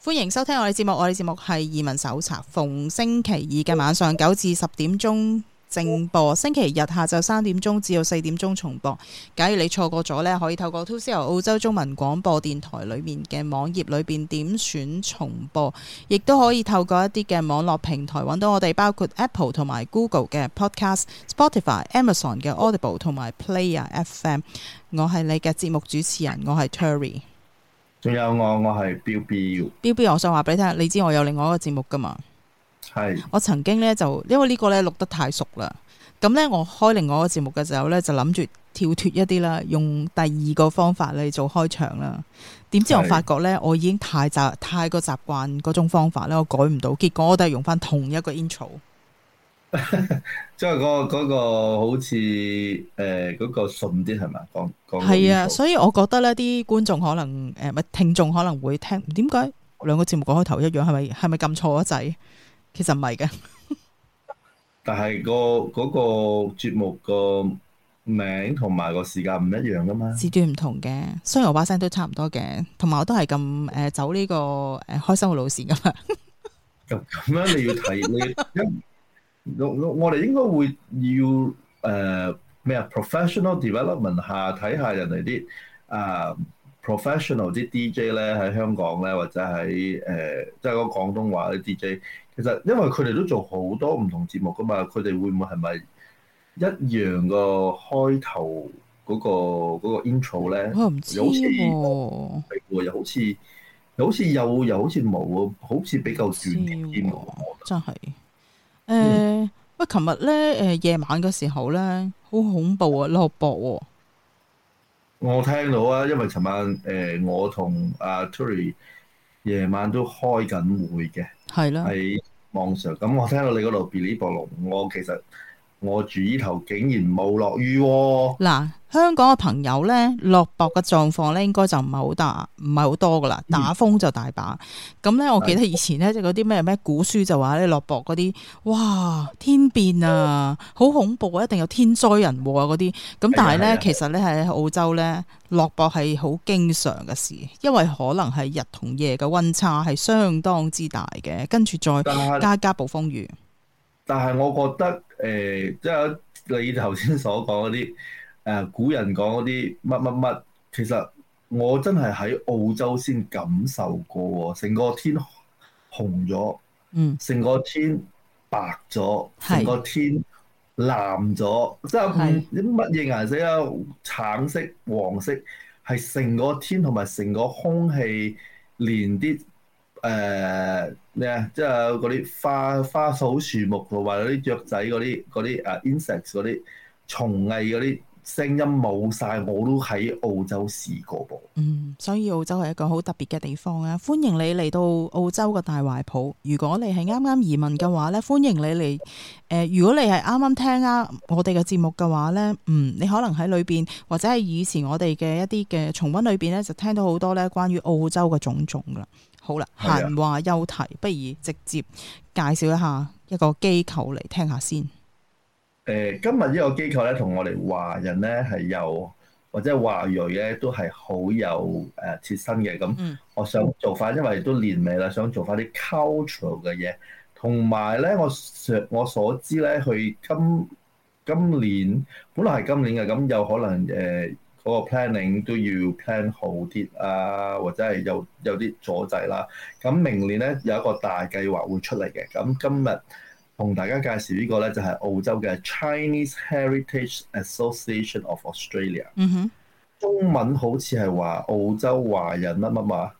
歡迎收聽我哋節目，我哋節目係移民手冊，逢星期二嘅晚上9至10點鐘正播，星期日下晝3點鐘至到4點鐘重播。假如你錯過咗呢，可以透過 2CR 澳洲中文廣播電台裏面嘅網頁裏邊點選重播，亦都可以透過一啲嘅網絡平台揾到我哋，包括 Apple 同埋 Google 嘅 Podcast、Spotify、Amazon 嘅 Audible 同埋 Player FM。我係你嘅節目主持人，我係 Terry。 仲有我係標標。 標標，我想話俾你聽，你知我有另外一個節目噶嘛？係。我曾經呢，就因為呢個呢錄得太熟啦，咁呢，我開另外一個節目嘅時候呢，就諗住跳脫一啲啦，用第二個方法嚟做開場啦。點知我發覺呢，我已經太過習慣嗰種方法呢，我改唔到，結果我都係用翻同一個 intro。 即係嗰個好似嗰個順啲係咪？講係啊，所以我覺得呢啲觀眾可能聽眾可能會聽，點解兩個節目個開頭一樣？係咪撳錯咗掣？其實唔係嘅。但係嗰個節目個名同埋個時間唔一樣噶嘛？時段唔同嘅，雖然我把聲都差唔多嘅，同埋我都係咁走呢個開心嘅路線噶嘛。 咁樣你要睇你我哋應該會要咩professional development 下睇下人哋啲professional 啲 DJ 咧喺香港咧，或者喺即係講廣東話啲 DJ， 其實因為佢哋都做好多唔同節目噶嘛，佢哋會唔會係咪一樣個開頭嗰個 intro 咧？我唔知喎，又好似又好似冇喎，好似比較短啲添喎，真係。喂，琴日咧夜晚嘅時候咧，好恐怖啊，落雹喎！我聽到啊，因為尋晚我同阿 Tury 夜晚都開緊會嘅，係啦，喺網上。咁我聽到你嗰度嗶哩啵隆，我住呢頭竟然冇落雨喎。嗱，香港嘅朋友咧，落雹嘅狀況咧，應該就唔係好大，唔係好多噶啦。打風就大把。咁咧，我記得以前咧，即係嗰啲咩古書就話咧，落雹嗰啲，哇，天變啊，好恐怖啊，一定有天災人禍啊嗰啲。咁但係咧，其實咧喺澳洲咧，落雹係好經常嘅事，因為可能係日同夜嘅溫差係相當之大嘅，跟住再加暴風雨。但係我覺得即係你頭先所講嗰啲古人講嗰啲乜乜乜，其實我真係喺澳洲先感受過喎，成個天紅咗，成個天白咗，成個天藍咗，即係啲乜嘢顏色啊？橙色、黃色，係成個天同埋成個空氣連啲。咩啊？即係嗰啲花草樹木同埋嗰啲雀仔嗰啲insects 嗰啲蟲藝嗰啲聲音冇晒，我都喺澳洲試過噃。所以澳洲係一個好特別嘅地方啊！歡迎你嚟到澳洲嘅大懷抱。如果你係啱啱移民嘅話咧，歡迎你嚟。如果你係啱啱聽我哋嘅節目嘅話咧，你可能喺裏邊或者係以前我哋嘅一啲嘅重溫裏邊咧，就聽到好多咧關於澳洲嘅種種噶啦。好啦，閒話休題，不如直接介紹一下一個機構嚟聽下先。今日呢個機構咧，同我哋華人咧係有或者華裔咧都係好有切身嘅。咁我想做翻，因為都年尾啦，想做翻啲 cultural 嘅嘢。同埋咧，我所知咧，佢今年本來係今年嘅，咁有可能嗰個 planning 都要 plan 好啲啊，或者係有啲阻滯啦。咁明年咧有一個大計劃會出嚟嘅。咁今日同大家介紹呢個咧就係澳洲嘅 Chinese Heritage Association of Australia。中文好似係話澳洲華人乜乜嘛？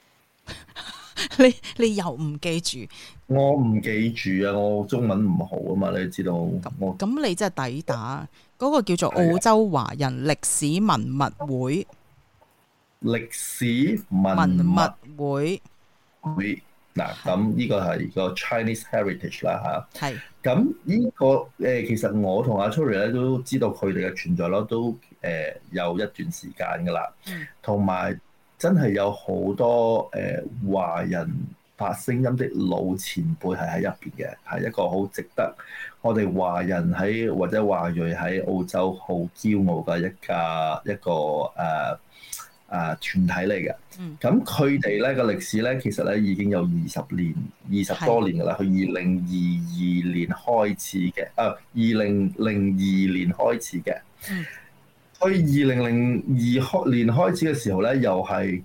你又唔記住？我唔記住啊！我中文唔好啊嘛，你知道。咁你真係抵打。嗰個叫做澳洲華人歷史文物會。歷史文物會。嗱，咁呢個係個 Chinese Heritage 啦嚇。係。咁呢個其實我同阿 Tury 咧都知道佢哋嘅存在咯，都有一段時間噶啦。同埋真係有好多華人發聲音的老前輩係喺入邊嘅，係一個好值得我哋華人喺或者華裔喺澳洲好驕傲嘅一個團體嚟嘅。咁佢哋咧個歷史咧，其實咧已經有20多年㗎啦。佢2022年開始嘅，2002年開始嘅。佢2002年開始嘅時候咧，又係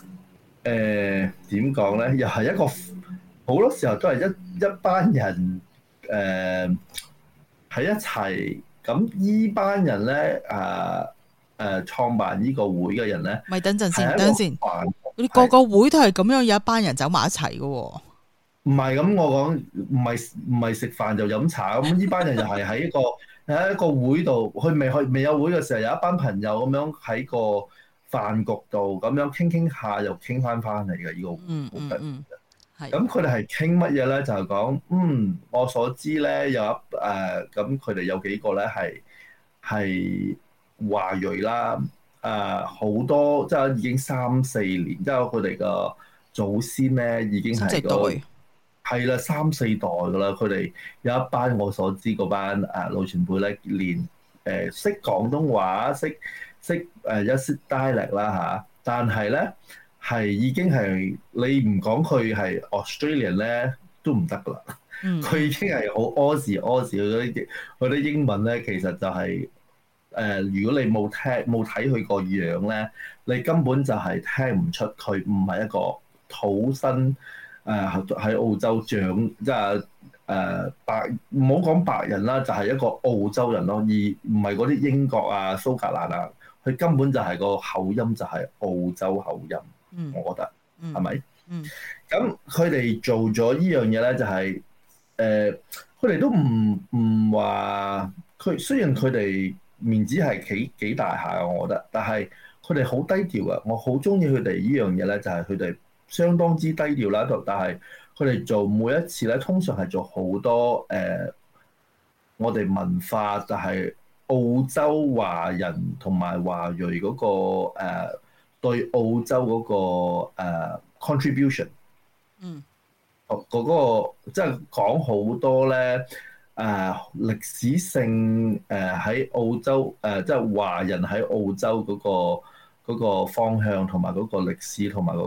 點講咧？又係一個好多時候都係一班人喺一齊。咁依班人咧創辦呢個會嘅人咧， 咪等陣先，等陣先。你個會都係咁樣，有一班人走埋一齊嘅喎。 唔係咁，我講唔係食飯就飲茶咁。呢班人又係喺一個會度，佢未有會嘅時候，有一班朋友咁樣喺個飯局度咁樣傾下，又傾翻嚟嘅呢個會。咁佢哋係傾乜嘢咧？就係講我所知咧有咁佢哋有幾個咧係華裔啦。好多即係已經3-4年，即係佢哋個祖先咧已經係係啦3-4代㗎啦。佢哋有一班我所知嗰班老前輩咧，連識廣東話，識一啲 dialect 啦嚇，但係咧係已經係你唔講佢係 Australian 咧都唔得㗎啦。佢已經係好 Aussie 嗰啲英文咧，其實就係如果你冇睇佢個樣咧，你根本就係聽唔出佢唔係一個土生喺澳洲長，即係白，唔好講白人啦，就係一個澳洲人咯，而唔係嗰啲英國啊、蘇格蘭啊，佢根本就係個口音就係澳洲口音，我覺得係咪？咁佢哋做咗呢樣嘢咧，就係佢哋都唔話佢，雖然佢哋面子係幾大下嘅，我覺得，但係佢哋好低調嘅。我好中意佢哋呢樣嘢咧，就係佢哋相當之低調啦。但係佢哋做每一次咧，通常係做好多我哋文化就係澳洲華人同埋華裔嗰個對澳洲嗰個contribution。嗰個即係講好多咧。歷史性喺澳洲即係華人喺澳洲嗰個方向同埋嗰個歷史同埋嗰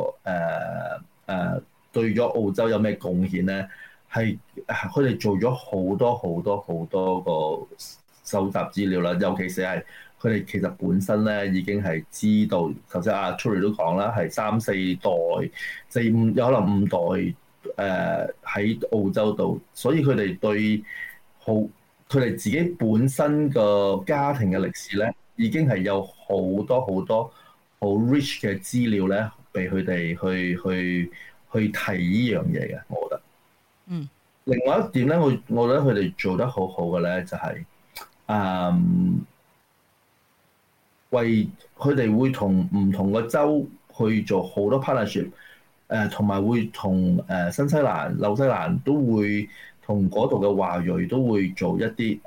個對咗澳洲有咩貢獻咧？係佢哋做咗好多個收集資料啦，尤其是係佢哋其實本身咧已經係知道，頭先阿 Tury 都講啦，係3-4代、4-5有可能5代。喺澳洲度，所以佢哋對佢哋自己本身個家庭嘅歷史咧，已經係有好多好 rich 嘅資料咧，俾佢哋去提呢樣嘢嘅，我覺得。另外一點咧，我覺得佢哋做得好好嘅咧，就係為佢哋會同唔同嘅州去做好多 partnership。同埋會同新西蘭、紐西蘭都會同嗰度嘅華裔都會做一啲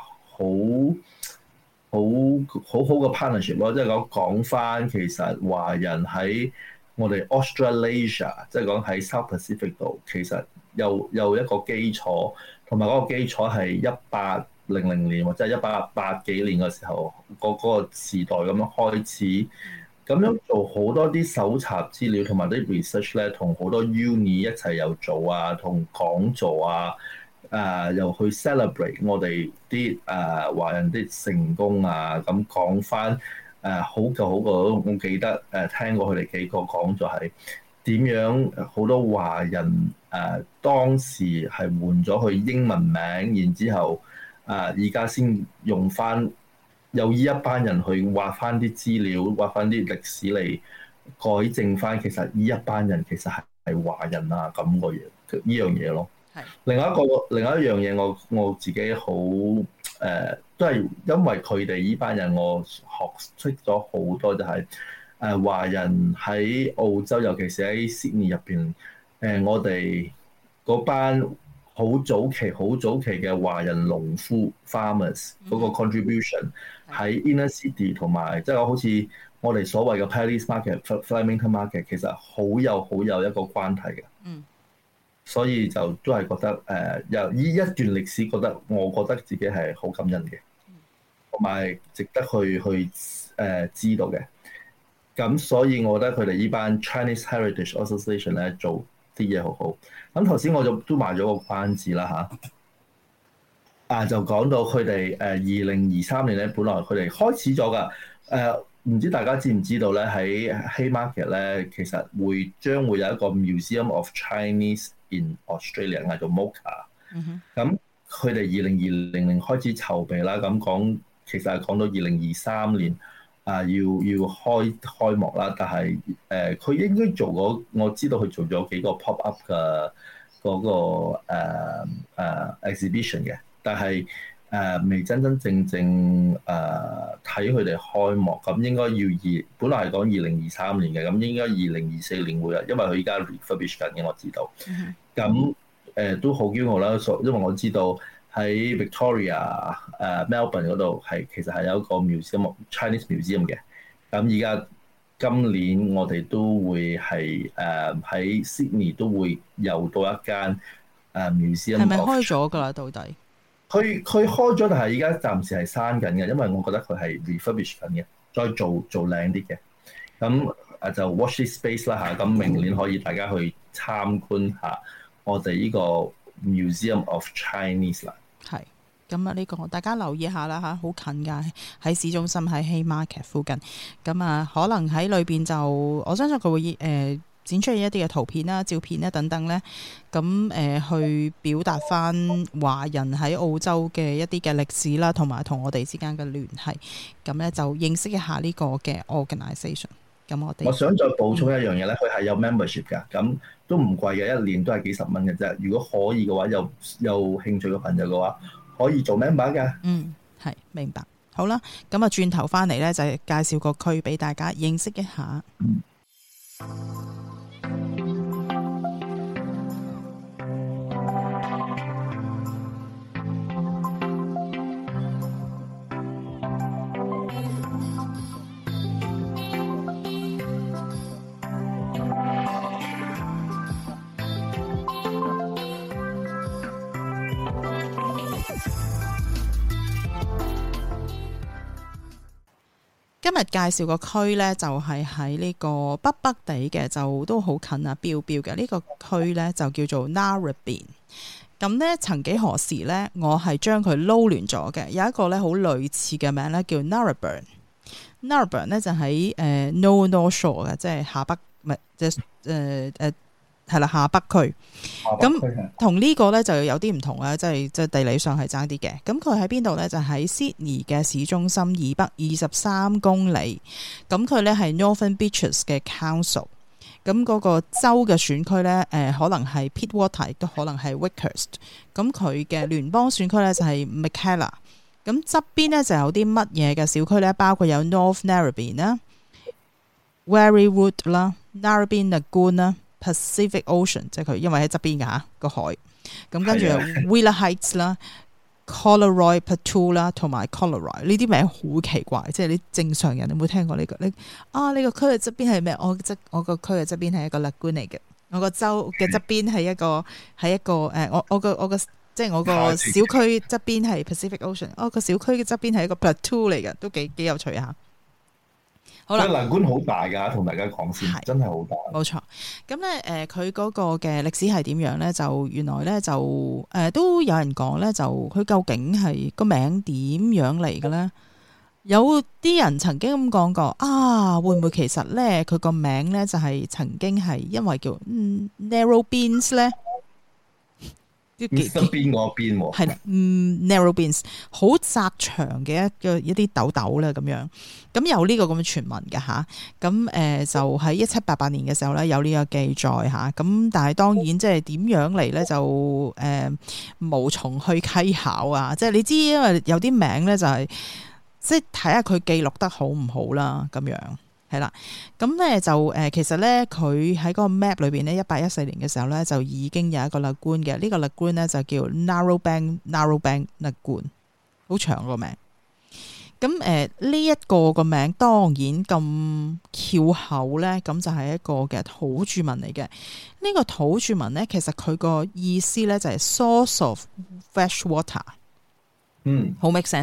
好嘅 partnership 咯，即係講翻其實華人喺我哋 Australasia， 即係講喺 South Pacific 度，其實有一個基礎，同埋嗰個基礎係1800年或者1880幾年嘅時候嗰個時代咁樣開始。咁樣做好多啲搜集資料同埋啲 research 咧，同好多 uni 一齊又做啊，同講座啊，又去 celebrate 我哋啲華人啲成功啊，咁講翻好舊，我記得聽過佢哋幾個講座係點樣好多華人當時係換咗去英文名，然之後而家先用翻。有呢一班人去挖翻啲資料，挖翻啲歷史嚟改正翻，其實呢一班人其實係華人啊咁個嘢，呢樣嘢咯。另外一樣嘢，我自己好都係因為佢哋呢班人，我學識咗好多就係華人喺澳洲，尤其是喺 Sydney 入邊，我哋嗰班好早期嘅華人農夫 farmers 嗰個 contribution 喺 inner city 同埋即係好似我哋所謂嘅 Paddy's Market、Flemington Market， 其實好有一個關係嘅。所以就都係覺得由呢一段歷史，我覺得自己係好感恩嘅，同埋值得去知道嘅。 咁所以我覺得佢哋呢班 Chinese Heritage Association 咧做啲嘢好好。咁頭先我就都賣咗個關子啦嚇，就講到佢哋2023年咧，本來佢哋開始咗㗎。唔知大家知唔知道咧？喺 Haymarket 咧，其實將會有一個 Museum of Chinese in Australia，嗌做 MOCA。咁佢哋2020年開始籌備啦，咁其實係講到2023年要開幕啦。但係佢應該做過，我知道佢做咗幾個 pop up 嘅嗰個exhibition 嘅，但係未真正睇佢哋開幕。咁應該本來係講2023年嘅，咁應該2024年會有，因為佢依家 refurbish 緊嘅，我知道。咁都好驕傲啦，因為我知道喺 Victoria Melbourne 嗰度其實係有一個 museum Chinese museum 嘅。咁而家今年我哋都會係喺 Sydney 都會有到一間museum。係咪開咗㗎啦？到底？ 佢開咗，但係而家暫時係閂緊嘅，因為我覺得佢係 refurbish 緊嘅，再做靚啲嘅。咁就 watch this space 啦嚇。咁明年可以大家去參觀下我哋呢個 Museum of Chinese 啦。係。 咁啊，呢個大家留意下啦嚇，好近㗎，喺市中心喺 Haymarket 附近。咁啊，可能喺裏邊就我相信佢會展出一啲嘅圖片啦、照片啦等等咧，咁去表達翻華人喺澳洲嘅一啲嘅歷史啦，同埋同我哋之間嘅聯繫。咁咧就認識一下呢個嘅 organisation。咁我想再補充一樣嘢咧，佢係有 membership 㗎，咁都唔貴嘅，一年都係幾十蚊嘅啫。如果可以嘅話，有興趣嘅朋友嘅話，可以做 member 㗎。 係明白。好啦，咁啊轉頭翻嚟咧，就係介紹個區俾大家認識一下。今日介紹個區呢，就係喺呢個北地嘅，就都好近啊，標嘅呢個區呢，就叫做 Narrabeen。咁呢，曾幾何時呢，我係將佢撈亂咗嘅，有一個呢好類似嘅名呢，叫 Narrabeen。Narrabeen 呢就喺North Shore 嘅，即係下北，唔係即係係啦，下北區。咁同呢個咧就有啲唔同啦，即係地理上係爭啲嘅。咁佢喺邊度咧？就喺 Sydney 嘅市中心以北23公里。咁佢咧係 Northern Beaches 嘅 Council。咁嗰個州嘅選區咧，可能係 Pittwater， 亦都可能係 Wakehurst。咁佢嘅聯邦選區咧就係 Mackellar。咁側邊咧就有啲乜嘢嘅小區咧？包括有 North Narrabeen 啦、Warriewood 啦、Narrabeen Lagoon 啦。Pacific Ocean 即係佢，因為喺側邊嘅嚇個海。咁跟住 Wheeler Heights 啦、Collaroy Plateau 啦，同埋 Collaroy 呢啲名好奇怪，即係你正常人有冇聽過呢個？呢個區嘅側邊係咩？我個區嘅側邊係一個 lagoon 嚟嘅。我個州嘅側邊係一個我個即係我個小區側邊係 Pacific Ocean。我個小區嘅側邊係一個 Plateau 嚟嘅，都幾有趣嚇。好啦， 蘭官好大㗎，同大家講先，真係好大。 冇錯，咁咧佢嗰個嘅歷史係點樣咧？就原來咧就都有人講咧，就佢究竟係個名點樣嚟嘅咧？有啲人曾經咁講過啊，會唔會其實咧佢個名咧就係曾經係因為叫Narrow-beens 咧？ 側邊嗰邊喎， 係啦，Narrow-beens 好窄長嘅一啲豆豆咧咁樣，咁有呢個咁嘅傳聞嘅嚇，咁就喺1788年嘅時候咧有呢個記載嚇，咁但係當然即係點樣嚟咧就無從去稽考啊，即係你知因為有啲名咧就係即係睇下佢記錄得好唔好啦咁樣。係啦，咁咧就其實咧佢喺嗰個 map 裏邊咧，1814年嘅時候咧就已經有一個 lagoon 嘅，呢個 lagoon 咧就叫 Narrowbank Lagoon， 好長個名。咁呢一個名當然咁翹口咧，咁就係一個嘅土著民嚟嘅。呢個土著民咧，其實佢個意思咧就係 source of fresh water，好 make sense 嘅。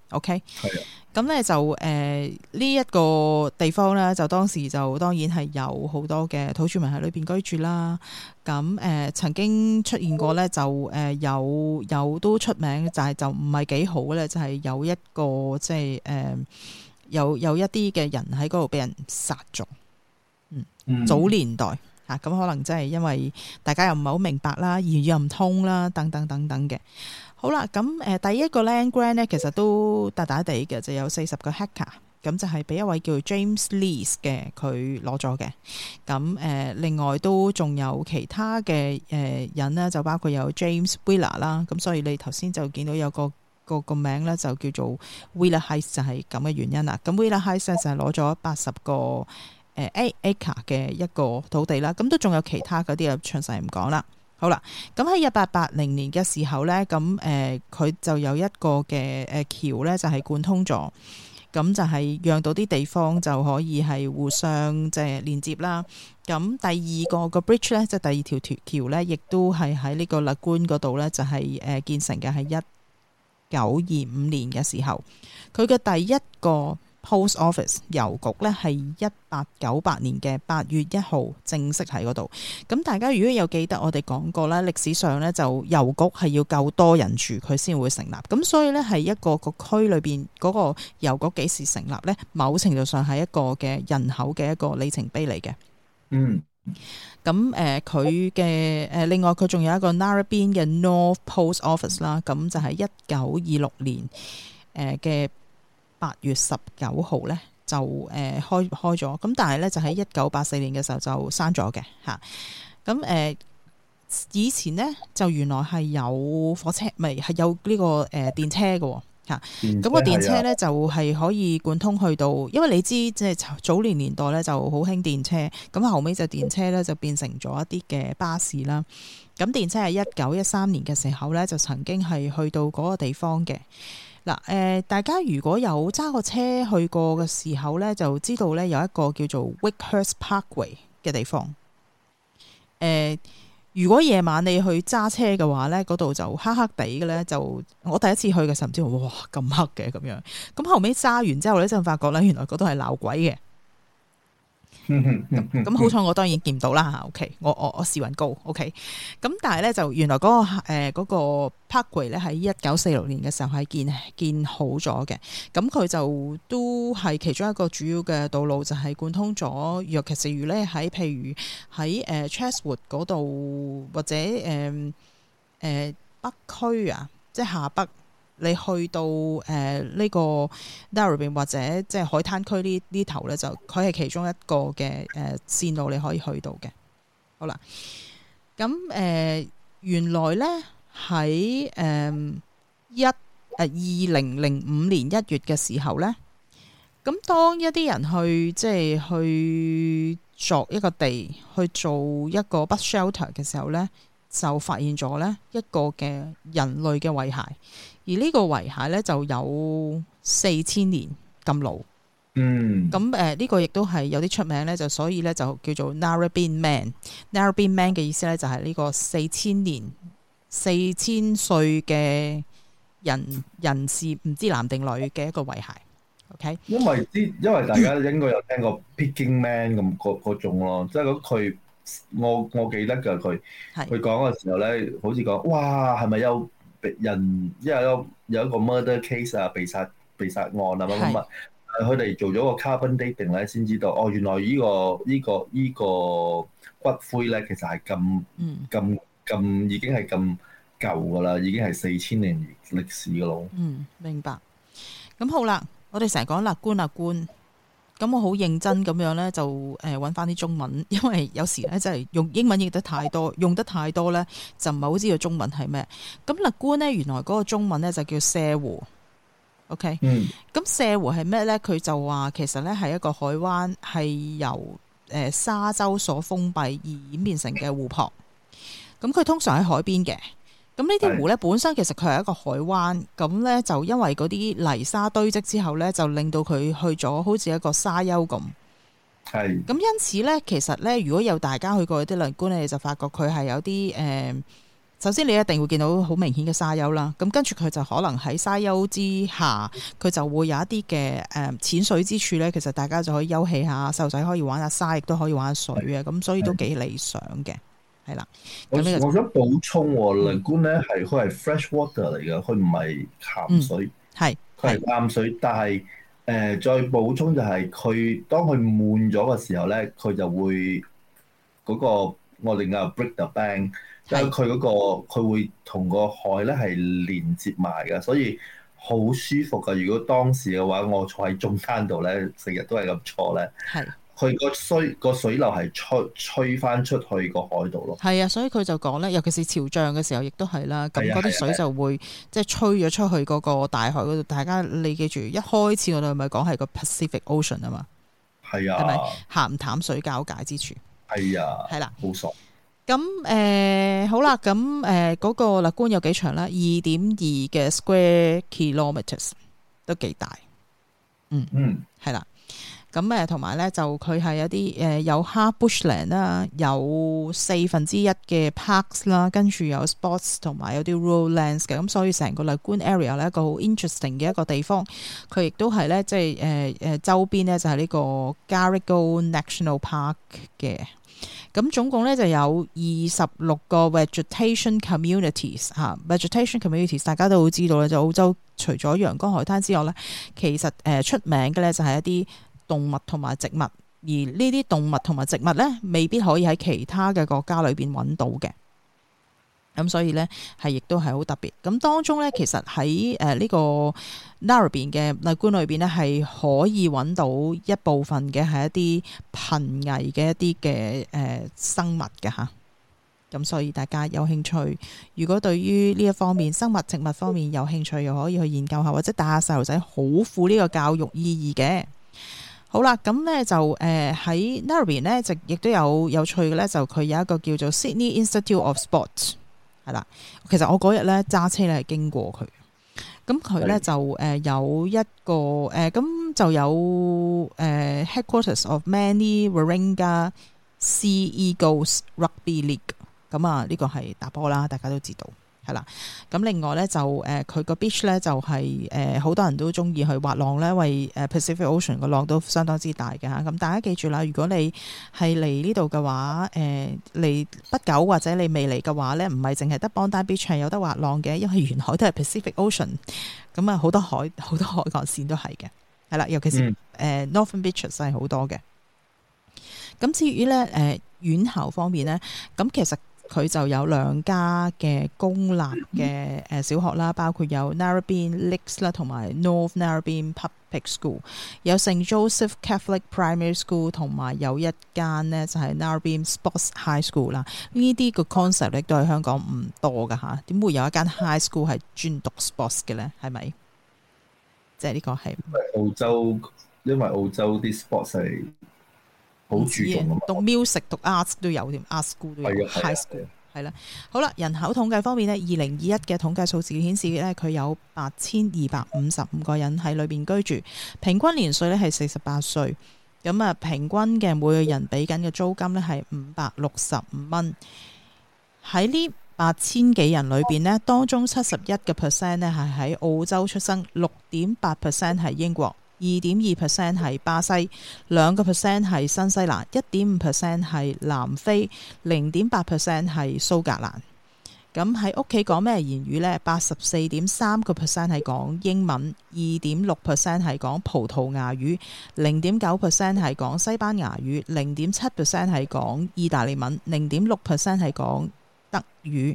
OK， 係啊。 咁咧就呢一個地方咧，就當時就當然係有好多嘅土著民喺裏邊居住啦。咁曾經出現過咧，就有都出名，就係就唔係幾好咧，就係有一個即係有一啲嘅人喺嗰度俾人殺咗。早年代嚇，咁可能真係因為大家又唔係好明白啦，言語又唔通啦，等等等等嘅。好啦，咁第一個 land grant 咧，其實都大大地嘅，就有40個 hectare，咁就係俾一位叫 James Lees 嘅佢攞咗嘅。咁另外都仲有其他嘅人呢，就包括有 James Wheeler 啦。咁所以你頭先就見到有個名咧，就叫做 Wheeler Heights，就係咁嘅原因啦。咁 Wheeler Heights 咧就係攞咗80個acre 嘅一個土地啦。咁都仲有其他嗰啲啊，詳細唔講啦。好啦，咁喺1880年嘅時候咧，咁佢就有一個嘅橋咧，就係貫通咗，咁就係讓到啲地方就可以係互相即係連接啦。咁第二個 bridge 咧，即係第二條橋咧，亦都係喺呢個 Lagoon 嗰度咧，就係建成嘅，係1925年嘅時候，佢嘅第一個Post Office 郵局咧係1898年嘅8月1號正式喺嗰度。咁大家如果有記得我哋講過啦，歷史上咧就郵局係要夠多人住佢先會成立。咁所以咧係一個區裏邊嗰個郵局幾時成立咧，某程度上係一個嘅人口嘅一個里程碑嚟嘅。咁佢嘅另外佢仲有一個 Narrabeen 嘅 North Post Office 啦。咁就係1926年嘅8月19號咧就開咗，咁但係咧就喺1984年嘅時候就閂咗嘅嚇。咁以前咧就原來係有火車，咪係有呢個電車嘅嚇。咁個電車咧就係可以貫通去到，因為你知即係早年代咧就好興電車，咁後尾就電車咧就變成咗一啲嘅巴士啦。咁電車係1913年嘅時候咧就曾經係去到嗰個地方嘅。嗱，大家如果有揸過車去過嘅時候咧，就知道咧有一個叫做 Wakehurst Parkway 嘅地方。如果夜晚你去揸車嘅話咧，嗰度就黑黑地嘅咧，就我第一次去嘅時候唔知哇咁黑嘅咁樣。咁後尾揸完之後咧，就發覺咧原來嗰度係鬧鬼嘅。咁好彩我當然見唔到啦嚇 ，OK， 我時運高 ，OK。咁但係咧就原來嗰個 Parkway 咧喺1946年嘅時候係建好咗嘅。咁佢就都係其中一個主要嘅道路，就係貫通咗。尤其是如咧譬如喺Chatswood 嗰度或者北區啊，即係下北。你去到呢個 Narrabeen 或者即係海灘區呢頭咧，就佢係其中一個嘅線路你可以去到嘅。好啦，咁原來咧喺2005年1月嘅時候咧，咁當一啲人去即係去作一個地去做一個 bus shelter 嘅時候咧，就發現咗咧一個嘅人類嘅遺骸。而呢個遺骸咧就有4000年咁老，咁呢個亦都係有啲出名咧，就所以咧就叫做 Narrabeen Man。Narrabeen Man 嘅意思咧就係呢個4000歲嘅人士，唔知男定女嘅一個遺骸。OK， 因為大家應該有聽過 Peking Man 咁嗰種咯，即係佢我記得㗎，佢講嘅時候咧，好似講哇係咪有人因為有一個 murder case 啊，被殺案啊乜乜乜，佢哋做咗個 carbon dating 咧，先知道哦，原來呢個骨灰咧，其實係咁已經係咁舊噶啦，已經係4000年歷史噶咯。 明白。咁好啦，我哋成日講Lagoon，咁我好認真咁樣咧，就揾翻啲中文，因為有時咧真係用英文譯得太多，用得太多咧，就唔係好知道中文係咩。咁Lagoon咧，原來嗰個中文咧就叫瀉湖。OK，咁瀉湖係咩咧？佢就話其實咧係一個海灣，係由沙洲所封閉而演變成嘅湖泊。咁佢通常喺海邊嘅。咁呢啲湖咧本身其實佢係一個海灣，咁咧就因為嗰啲泥沙堆積之後咧，就令到佢去咗好似一個沙丘咁。係。咁因此咧，其實咧，如果有大家去過啲Lagoon，你就發覺佢係有啲首先你一定會見到好明顯嘅沙丘啦。咁跟住佢就可能喺沙丘之下，佢就會有一啲嘅淺水之處咧。其實大家就可以休憩下，細路仔可以玩下沙，亦都可以玩下水啊。咁所以都幾理想嘅，係啦。 我想補充，Lagoon 咧係佢係 fresh water 嚟嘅，佢唔係鹹水，係佢係淡水，但係。再補充就係佢當佢滿咗嘅時候咧，佢就會嗰個我哋叫 break the bank，因為佢嗰個佢會同個海咧係連接埋嘅，所以好舒服嘅。如果當時嘅話，我坐喺中間度咧，成日都係咁坐咧。係。佢個水流係吹翻出去個海度咯。係啊，所以佢就講咧，尤其是潮漲嘅時候，亦都係啦。咁嗰啲水就會即係吹咗出去嗰個大海嗰度。大家你記住，一開始我哋咪講係個 Pacific Ocean 啊嘛。係啊。係咪鹹淡水交界之處？係啊。係啦，好爽。咁好啦，咁嗰個Lagoon有幾長啦？2.2嘅 square kilometres 都幾大。係啦。咁同埋咧就佢係有啲有 half bushland 啦，有1/4嘅 parks 啦，跟住有 sports 同埋有啲 rural lands 嘅，咁所以成個 Lagoon area 咧一個好 interesting 嘅一個地方。佢亦都係咧即係周邊咧就係呢個 Garigal National Park 嘅。咁總共咧就有26個 vegetation communities 嚇，vegetation communities 大家都會知道咧，就澳洲除咗陽光海灘之外咧，其實出名嘅咧就係一啲動物同埋植物，而呢啲動物同埋植物咧，未必可以喺其他嘅國家裏邊揾到嘅。咁所以咧，係亦都係好特別。咁當中咧，其實喺呢個 Narrabeen 嘅Lagoon裏邊咧，係可以揾到一部分嘅係一啲瀕危嘅一啲嘅生物嘅嚇。咁所以大家有興趣，如果對於呢一方面生物植物方面有興趣，又可以去研究下，或者帶下細路仔，好富呢個教育意義嘅。好啦，咁咧就喺 Narrabeen 咧，就亦都有趣嘅咧，就佢有一個叫做 Sydney Institute of Sport 係啦。其實我嗰日咧揸車咧係經過佢，咁佢咧就有一個咁就有Headquarters of Manly Warringah Sea Eagles Rugby League。咁啊，呢個係打波啦，大家都知道。係啦，咁另外咧就佢個 beach 咧就係好多人都中意去滑浪咧，因為Pacific Ocean 個浪都相當之大嘅嚇。咁大家記住啦，如果你係嚟呢度嘅話，嚟不久或者你未嚟嘅話咧，唔係淨係得 Bondi Beach 係有得滑浪嘅，因為沿海都係 Pacific Ocean， 咁啊好多海岸線都係嘅，係啦，尤其是Northern Beaches 係好多嘅。咁至於咧院校方面咧，咁其實佢就有2家嘅公立嘅小學啦，包括有 Narrabeen Lakes 啦，同埋 North Narrabeen Public School， 有 St Joseph Catholic Primary School， 同埋有一間呢就係 Narrabeen Sports High School 啦。呢啲個 concept 亦都係香港唔多噶嚇，點會有一間 high school 係專讀 sports 嘅咧？係咪？即係呢個係因為澳洲啲 sports 係好注重啊嘛， 讀 music 讀 arts 都有添，art school 都有 high school 係啦。好啦，人口統計方面呢，2021嘅統計數字顯示咧，佢有8255個人喺裏邊居住，平均年歲咧係48歲。咁啊，平均嘅每個人俾緊嘅租金咧係565蚊。喺呢8000幾人裏邊呢，當中71% 咧係喺澳洲出生，6.8% 係英國。2.2% 係巴西，2% 係新西蘭，1.5% 係南非，0.8% 係蘇格蘭。咁喺屋企講咩言語呢？84.3% 係講英文，2.6% 係講葡萄牙語，0.9% 係講西班牙語，0.7% 係講意大利文，0.6% 係講德語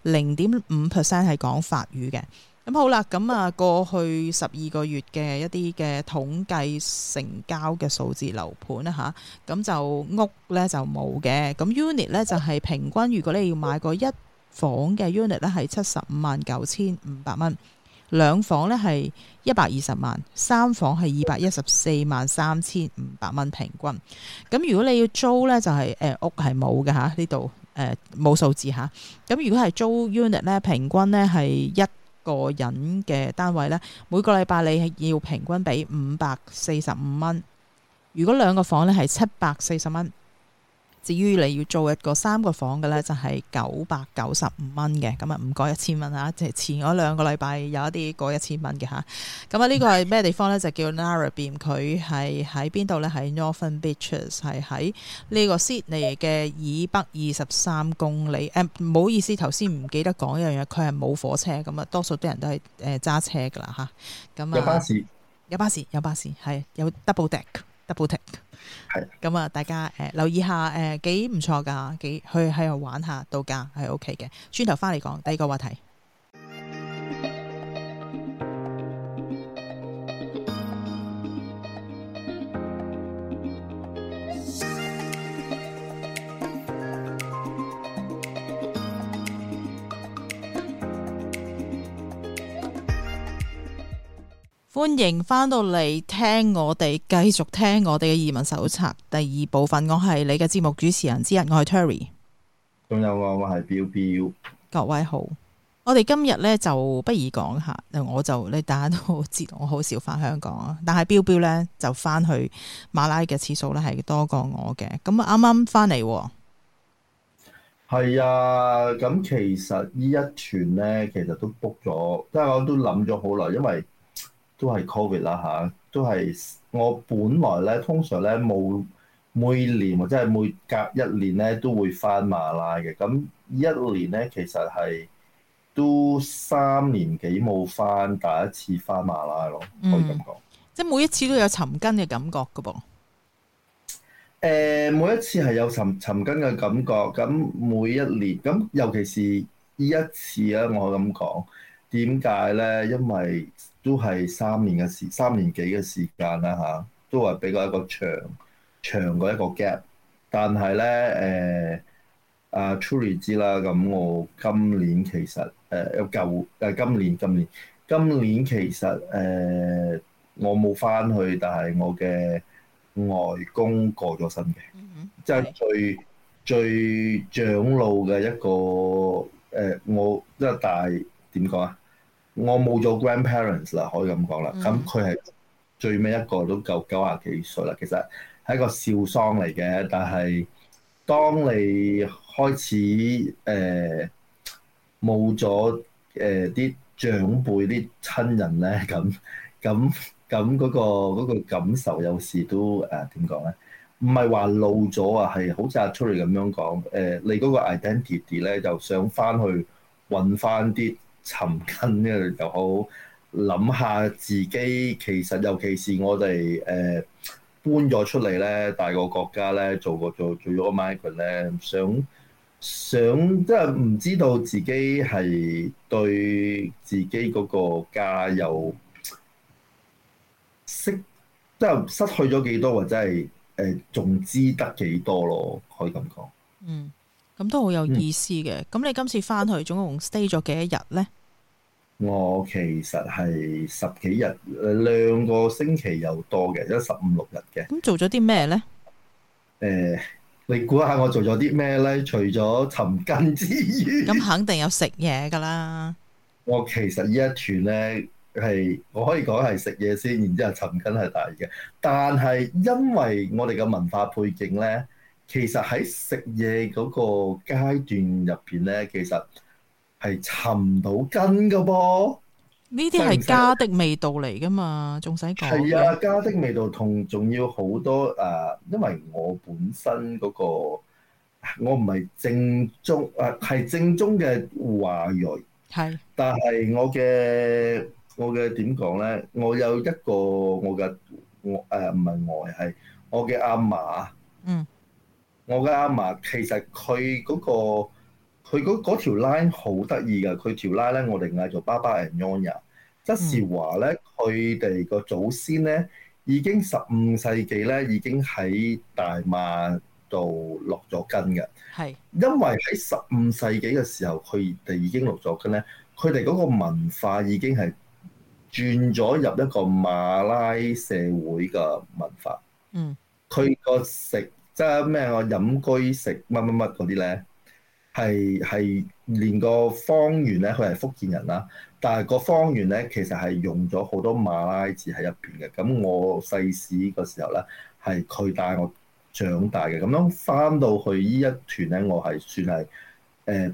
，0.5% 係講法語嘅。咁好啦，咁啊過去12個月嘅一啲嘅統計成交嘅數字樓盤啦嚇，咁就屋咧就冇嘅，咁 unit 咧就係平均，如果你要買個一房嘅 unit 咧係759,500蚊，2房咧係120萬，3房係214,3,500蚊平均。咁如果你要租咧就係屋係冇嘅嚇，呢度冇數字嚇。咁如果係租 unit 咧，平均咧係一個人嘅單位咧，每個禮拜你係要平均俾545蚊。如果2個房咧係740蚊， 至於你要做一個3個房嘅咧，就係995蚊嘅，咁啊唔過1000蚊嚇，即係前嗰2個禮拜有一啲過1000蚊嘅嚇。咁啊呢個係咩地方咧？就叫 Narrabeen，佢係喺邊度咧？喺 Northern Beaches，係喺呢個 Sydney 嘅以北23公里。唔好意思，頭先唔記得講一樣嘢，佢係冇火車，咁啊多數啲人都係揸車噶啦嚇。咁啊有巴士係有 double deck。係咁啊！大家留意下幾唔錯㗎，幾去喺度玩下度假係 OK 嘅。轉頭翻嚟講第二個話題。歡迎翻到嚟聽我哋繼續聽我哋嘅移民手冊第2部分。我係你嘅節目主持人之一，我係 Terry。 仲有我係 Bill。 各位好，我哋今日咧就不如講下，你大家都知道我好少翻香港啊，但係 Bill 咧就翻去馬拉嘅次數咧係多過我嘅。咁啊啱啱翻嚟。 係啊，咁其實呢一團咧其實都 book 咗，即係我都諗咗好耐，因為都係 Covid 啦嚇，都係我本來咧通常咧每年或者係每隔1年咧都會翻馬拉嘅，咁1年咧其實係都3年幾冇翻，第一次翻馬拉咯，可以咁講。 即係每一次都有尋根嘅感覺㗎噃。 每一次係有尋根嘅感覺，咁每一年咁，尤其是呢一次咧，我咁講點解咧？因為都係3年幾嘅時間啦嚇，都係比較一個長過一個 gap。但係咧Truly 知啦，咁我今年其實今年其實我冇翻去，但係我嘅外公過咗身嘅，即係最長老嘅一個我即係大點講啊？我冇咗 grandparents 啦，可以咁講啦。咁佢係最尾一個都夠90幾歲啦。其實係一個笑喪嚟嘅，但係當你開始冇咗啲長輩啲親人咧，咁嗰個感受有時都點講咧？唔係話老咗啊，係好似阿 Tury 咁樣講你嗰個 identity 咧，就想翻去揾翻啲尋根咧就好，諗下自己其實尤其是我哋搬咗出嚟咧，大個國家咧做咗個 migrant 咧，想即係唔知道自己係對自己嗰個家有即係失去咗幾多，或者係仲知得幾多咯？可以咁講。 咁都好有意思嘅。咁你今次翻去總共 stay 咗幾多日咧？ 我其實係10幾日，2個星期又多嘅，有15、16日嘅。 咁做咗啲咩咧？ 你估下我做咗啲咩咧？除咗尋根之餘，咁肯定有食嘢㗎啦。 我其實呢一團咧我可以講係食嘢先，然之後尋根係大嘅。但係因為我哋嘅文化背景咧，其實喺食嘢嗰個階段入邊咧，其實係尋唔到根㗎噃。 呢啲係家的味道嚟㗎嘛，仲使講？ 係啊，家的味道仲要好多因為我本身嗰個我唔係正宗係正宗嘅華裔，係，但係我嘅點講咧？我有一個唔係外係我嘅阿嫲，我嘅阿嫲其實佢嗰條 line 好得意㗎，佢條 line 咧我哋嗌做爸爸 and Nyonya， 即是話咧佢哋個祖先咧已經15世紀咧已經喺大馬度落咗根嘅，係因為喺15世紀嘅時候佢哋已經落咗根咧，佢哋嗰個文化已經係轉咗入一個馬拉社會嘅文化，佢個食即係咩我飲居食乜嗰啲咧。係連個方圓咧，佢係福建人啦，但係個方圓咧其實係用咗好多馬拉字喺入邊嘅。咁我細時個時候咧，係佢帶我長大嘅。咁樣翻到去呢一團咧，我係算係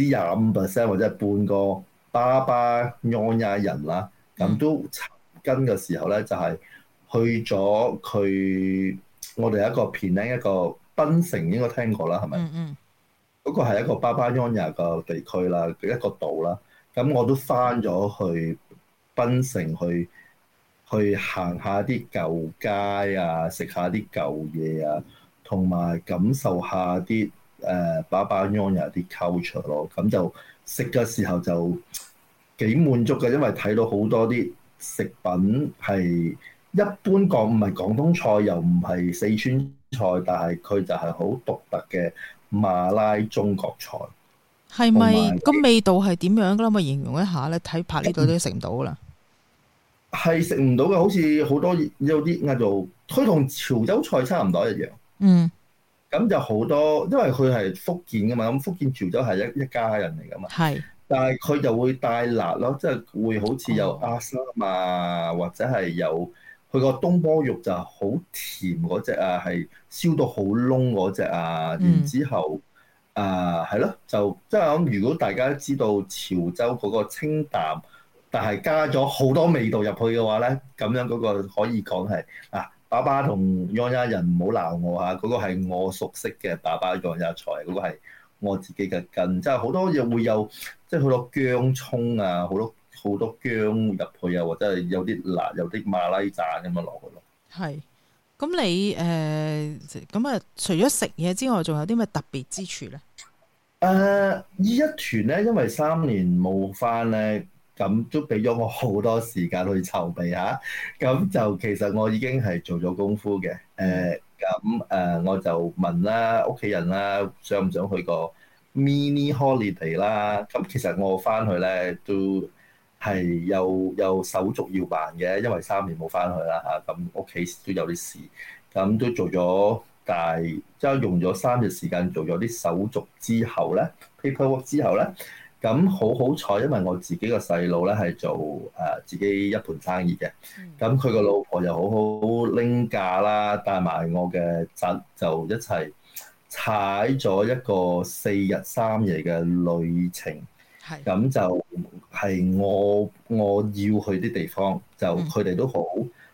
25%或者係半個爸爸 Nyonya 人啦。咁都尋根嘅時候咧，就係去咗佢我哋一個 Penang 一個檳城應該聽過啦，係咪？嗰個係一個爸爸 Nyonya 嘅地區啦，一個島啦。咁我都翻咗去檳城去行下啲舊街啊，食下啲舊嘢啊，同埋感受下啲爸爸 Nyonya 啲 culture 咯。咁就食嘅時候就幾滿足嘅，因為睇到好多啲食品係一般講唔係廣東菜，又唔係四川菜，但係佢就係好獨特嘅馬拉中國菜。 係咪個味道係點樣㗎啦？可以形容一下咧？睇拍呢度都食唔到㗎啦。係食唔到嘅，好似好多有啲嗌做，佢同潮州菜差唔多一樣。咁就好多，因為佢係福建㗎嘛，咁福建潮州係一家人嚟㗎嘛。但係佢就會帶辣咯，即係會好似有阿三啊，或者係有佢個東坡肉就好甜嗰隻啊，係燒到好燶嗰隻啊。然之後係咯，就即係咁。如果大家知道潮州嗰個清淡，但係加咗好多味道入去嘅話咧，咁樣嗰個可以講係爸爸同 Nyonya 人唔好鬧我嚇，嗰個係我熟悉嘅爸爸 Nyonya 菜，嗰個係我自己嘅根，即係好多嘢會有，即係好多薑葱啊，好多薑入去啊，或者係有啲辣，有啲馬拉盞咁樣落去咯。係， 咁你咁除咗食嘢之外，仲有啲咩特別之處咧？ 呢一團咧，因為3年冇返咧。咁都俾咗我好多時間去籌備下，咁就其實我已經係做咗功夫嘅。我就問啦屋企人啦，想唔想去個 mini holiday 啦？咁其實我翻去咧都係有手續要辦嘅，因為3年冇翻去啦嚇，咁屋企都有啲事，咁都做咗即係用咗3日時間做咗啲手續之後咧 paperwork 之後咧。咁好彩，因為我自己個細路咧係做自己一盤生意嘅，咁佢個老婆又好好拎假啦，帶埋我嘅侄就一齊踩咗一個4日3夜嘅旅程，咁就係我要去啲地方，就佢哋都好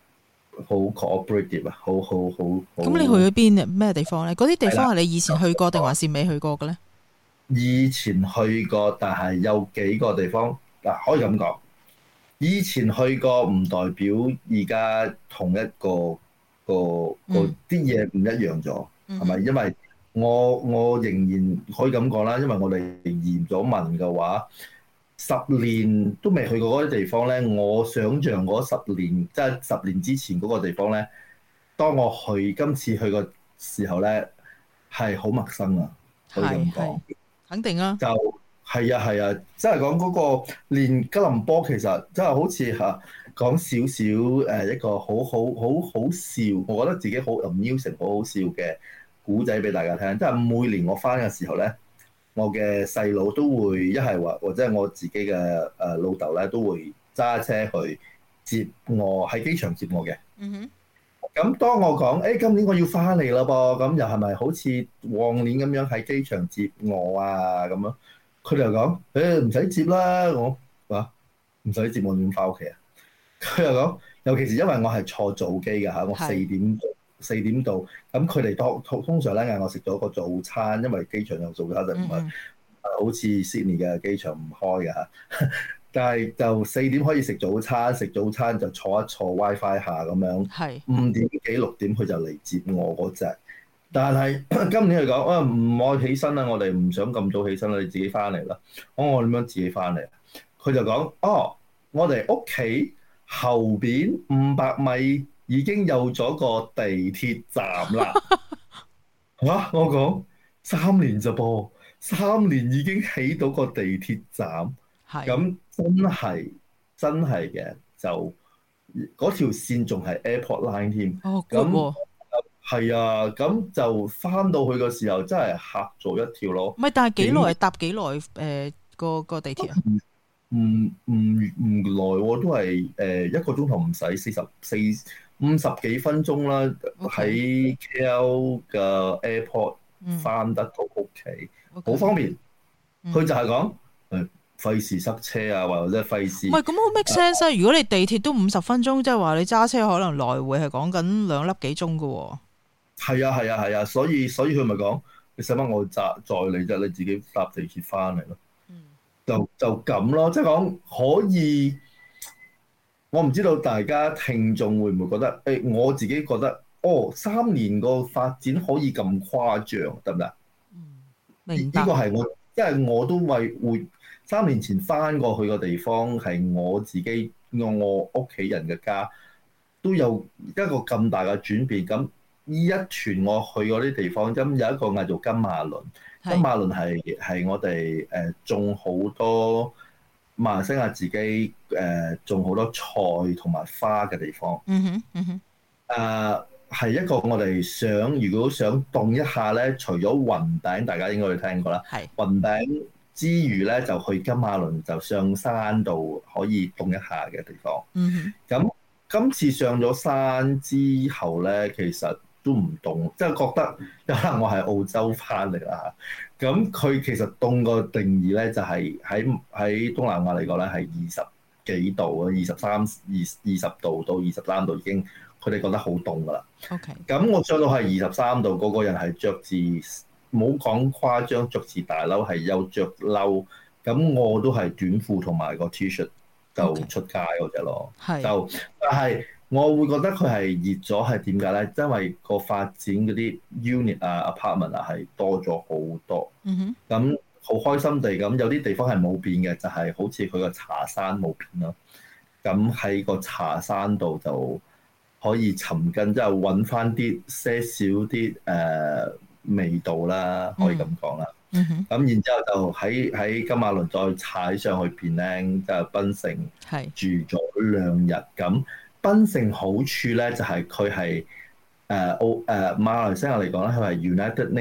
cooperative 啊，好。咁你去咗邊咩地方咧？嗰啲地方係你以前去過定還是未去過嘅咧？ 以前去過，但係有幾個地方可以咁講。以前去過唔代表而家同一個啲嘢唔一樣咗，係咪？因為我仍然可以咁講啦，因為我哋移咗民嘅話，10年都未去過嗰啲地方咧。我想像嗰10年，即係10年之前嗰個地方咧，當我今次去嘅時候咧，係好陌生啊，可以咁講。 肯定啊！ 就係啊，即係講嗰個連吉隆坡其實真係好似講少少一個好笑，我覺得自己好 amusing 好好笑嘅古仔俾大家聽。即係每年我翻嘅時候咧，我嘅細佬都會一係話，或者我自己嘅老豆咧都會揸車去接我喺機場接我嘅。咁當我講今年我要翻嚟啦噃，咁又係咪好似往年咁樣喺機場接我啊咁樣？佢哋又講唔使接啦，我話唔使接我點翻屋企啊？佢又講，尤其是因為我係坐早機嘅嚇，我4點到，咁佢哋通常咧嗌我食咗個早餐，因為機場有早餐就唔係好似 Sydney 嘅機場唔開嘅嚇。但係就4點可以食早餐，食早餐就坐一坐 WiFi 下咁樣。5點幾6點佢就嚟接我嗰隻。但係今年佢講唔愛起身啦，我哋唔想咁早起身啦，你自己翻嚟啦。我點樣自己翻嚟？佢就講我哋屋企後邊500米已經有咗個地鐵站啦。我講3年咋噃，3年已經起到個地鐵站。咁真係嘅，就嗰條線仲係 Airport Line 添。咁係啊，咁就翻到去嘅時候真係嚇咗一跳咯。 唔係，但係幾耐搭幾耐個地鐵啊？ 唔耐喎，都係1個鐘頭唔使50幾分鐘啦，喺 KL 嘅 airport 翻得到屋企，好方便。佢就係講費事塞車啊，或者費事。 唔係咁好 make sense 啊！如果你地鐵都50分鐘，即係話你揸車可能來回係講緊2粒幾鐘㗎喎。 係啊，所以佢咪講你使乜我載你啫？你自己搭地鐵翻嚟咯。就咁咯，即係講可以。我唔知道大家聽眾會唔會覺得我自己覺得3年個發展可以咁誇張，得唔得？ 明白。 呢個係我，因為我都會3年前翻過去個地方係我自己我屋企人嘅家，都有一個咁大嘅轉變。咁呢一團我去嗰啲地方，咁有一個嗌做金馬倫。金馬倫係我哋種好多馬來西亞自己種好多菜同埋花嘅地方。係一個我哋如果想凍一下咧，除咗雲頂，大家應該會聽過啦。雲頂之餘咧，就去金馬倫，就上山度可以凍一下嘅地方。咁今次上咗山之後咧，其實都唔凍，即係覺得可能我係澳洲翻嚟啦。咁佢其實凍個定義咧，就係喺東南亞嚟講咧，係20幾度啊，20度到23度已經，佢哋覺得好凍噶啦。咁我上到係23度，個人係着住冇講誇張，着住大褸係有着褸，咁我都係短褲同埋個 T-shirt 就出街嗰隻咯。但係我會覺得佢係熱咗，係點解咧？因為個發展嗰啲 unit 啊、apartment 啊係多咗好多。咁好開心地咁，有啲地方係冇變嘅，就係好似佢個茶山冇變咯。咁喺個茶山度就可以尋根，即係揾翻啲些少啲味道啦，可以咁講啦。咁然之後就喺金馬倫再踩上去邊咧，就檳城住咗2日。咁檳城好處咧就係佢係馬來西亞嚟講咧，佢係 United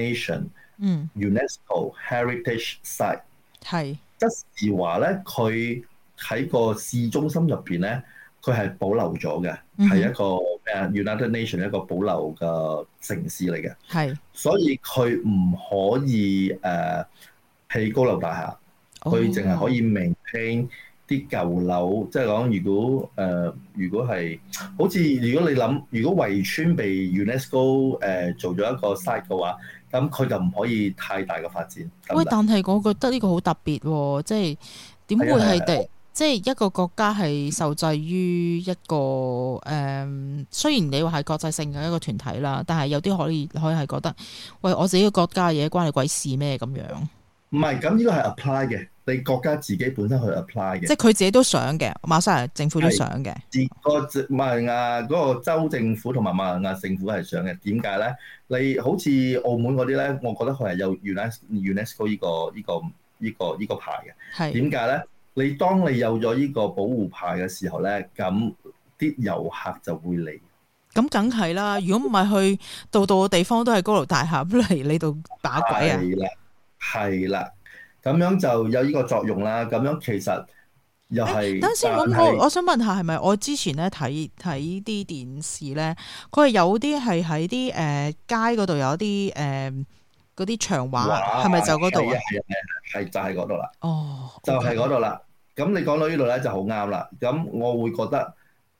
Nation、UNESCO Heritage Site。即是話咧，佢喺個市中心入邊咧，佢係保留咗嘅，係一個United Nation 一個保留嘅城市嚟嘅。所以佢唔可以起高樓大廈，佢淨係可以maintain啲舊樓。即係講如果係好似如果你諗，如果圍村被 UNESCO 做咗一個 site 嘅話，咁佢就唔可以太大嘅發展。 喂，但係我覺得呢個好特別喎，即係點會係即係一個國家係受制於一個雖然你話係國際性嘅一個團體啦，但係有啲可以係覺得，喂，我自己個國家嘅嘢關你鬼事咩咁樣？ 唔係，咁呢個係 apply 嘅，你國家自己本身去 apply 嘅。即係佢自己都想嘅，馬來西亞政府都想嘅。 馬來亞嗰個州政府同埋馬來亞政府係想嘅。點解咧？你好似澳門嗰啲咧，我覺得佢係有 UNESCO 呢個牌嘅。點解咧？你當你有咗呢個保護牌嘅時候咧，咁啲遊客就會嚟。 咁梗係啦，如果唔係去度嘅地方都係高樓大廈嚟你度打鬼啊！ 係啦，咁樣就有呢個作用啦。咁樣其實又係。等先， 我想問下，係咪我之前咧睇啲電視咧，佢係有啲係喺啲街嗰度有啲嗰啲牆畫，係咪就嗰度啊？ 係就係嗰度啦。 哦， 就係嗰度啦。咁你講到呢度咧就好啱啦。咁我會覺得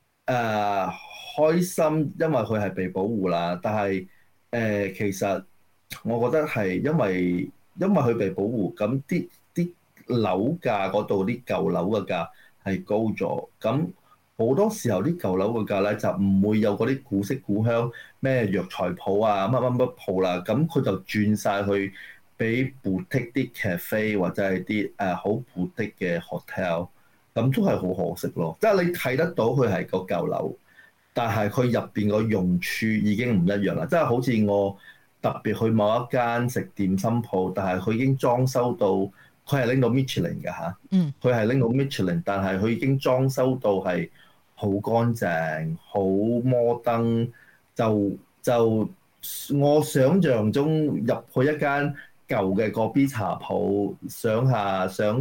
開心，因為佢係被保護啦。但係其實我覺得係因為佢被保護，咁啲樓價嗰度啲舊樓嘅價係高咗。咁好多時候啲舊樓嘅價咧就唔會有嗰啲古色古香咩藥材鋪啊、乜鋪啦。咁佢就轉晒去俾 boutique 啲 cafe 或者係啲好 boutique 嘅 hotel，咁都係好可惜咯。即係你睇得到佢係個舊樓，但係佢入邊個用處已經唔一樣啦。即係好似我特別去某一間食點心鋪，但係佢已經裝修到，佢係拎到 Michelin 嘅嚇。佢係拎到 Michelin，但係佢已經裝修到係好乾淨、好摩登。就我想像中入去一間舊嘅個 B 茶鋪，想